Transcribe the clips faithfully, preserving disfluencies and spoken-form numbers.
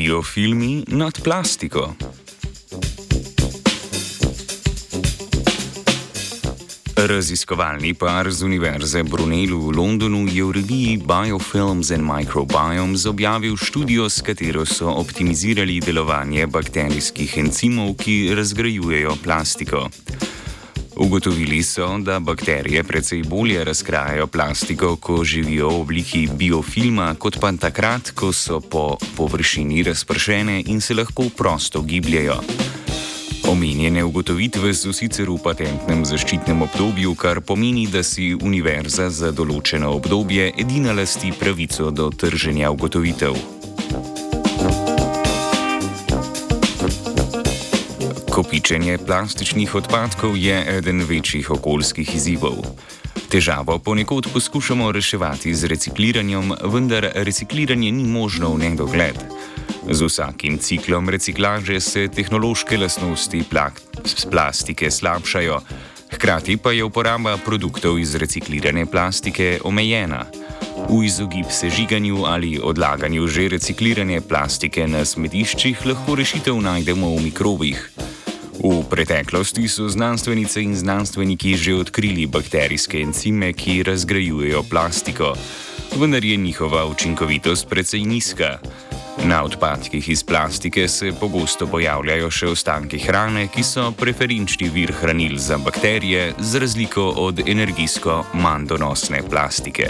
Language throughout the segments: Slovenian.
Biofilmi nad plastiko. Raziskovalni par z Univerze Brunel v Londonu je v reviji Biofilms and Microbiomes objavil študijo, s katero so optimizirali delovanje bakterijskih encimov, ki razgrajujejo plastiko. Ugotovili so, da bakterije precej bolje razkrajajo plastiko, ko živijo v obliki biofilma, kot pa takrat, ko so po površini razpršene in se lahko prosto gibljejo. Omenjene ugotovitve so sicer v patentnem zaščitnem obdobju, kar pomeni, da si univerza za določeno obdobje edina lasti pravico do trženja ugotovitev. Kopičenje plastičnih odpadkov je eden večjih okoljskih izzivov. Težavo ponekod poskušamo reševati z recikliranjem, vendar recikliranje ni možno v nedogled. Z vsakim ciklom reciklaže se tehnološke lastnosti plastike slabšajo, hkrati pa je uporaba produktov iz reciklirane plastike omejena. V izogib sežiganju ali odlaganju že reciklirane plastike na smetiščih lahko rešitev najdemo v mikrobih. V preteklosti so znanstvenice in znanstveniki že odkrili bakterijske encime, ki razgrajujejo plastiko, vendar je njihova učinkovitost precej nizka. Na odpadkih iz plastike se pogosto pojavljajo še ostanki hrane, ki so preferenčni vir hranil za bakterije, z razliko od energijsko manj donosne plastike.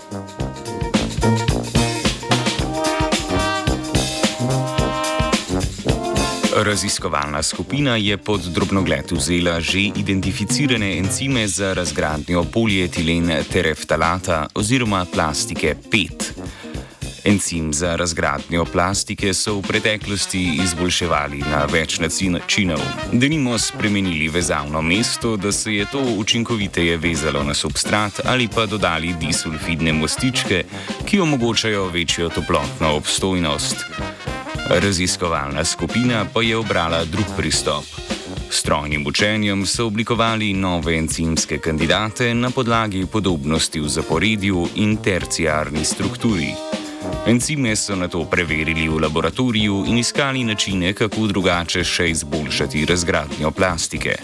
Raziskovalna skupina je pod drobnogled vzela že identificirane encime za razgradnjo polietilen tereftalata oziroma plastike pet. Encim za razgradnjo plastike so v preteklosti izboljševali na več načinov. Denimo spremenili vezavno mesto, da se je to učinkoviteje vezalo na substrat, ali pa dodali disulfidne mostičke, ki omogočajo večjo toplotno obstojnost. Raziskovalna skupina pa je obrala drug pristop. S strojnim učenjem so oblikovali nove encimske kandidate na podlagi podobnosti v zaporedju in terciarni strukturi. Encime so nato preverili v laboratoriju in iskali načine, kako drugače še izboljšati razgradnjo plastike.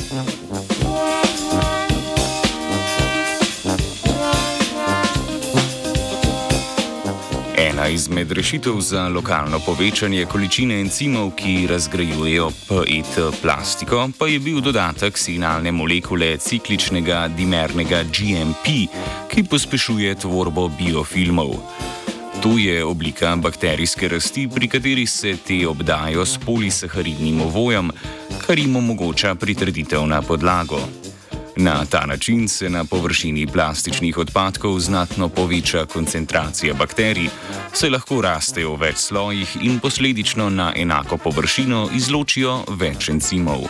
Ena izmed rešitev za lokalno povečanje količine encimov, ki razgrajujejo P E T plastiko, pa je bil dodatek signalne molekule cikličnega dimernega G M P, ki pospešuje tvorbo biofilmov. To je oblika bakterijske rasti, pri kateri se te obdajo s polisaharidnim ovojem, kar jim omogoča pritrditev na podlago. Na ta način se na površini plastičnih odpadkov znatno poveča koncentracija bakterij, saj lahko rastejo v več slojih in posledično na enako površino izločijo več encimov.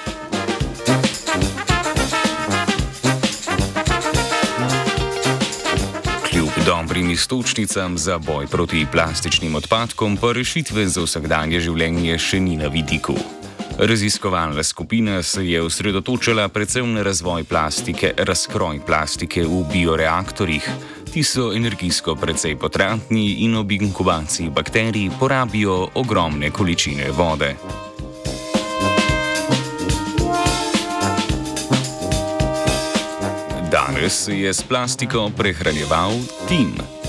Dobrim iztočnicam za boj proti plastičnim odpadkom pa rešitve za vsakdanje življenje še ni na vidiku. Raziskovalna skupina se je osredotočila predvsem na razvoj plastike, razkroj plastike v bioreaktorjih. Ti so energijsko precej potratni in ob inkubaciji bakterij porabijo ogromne količine vode. Danes se je s plastiko prehranjeval Tim.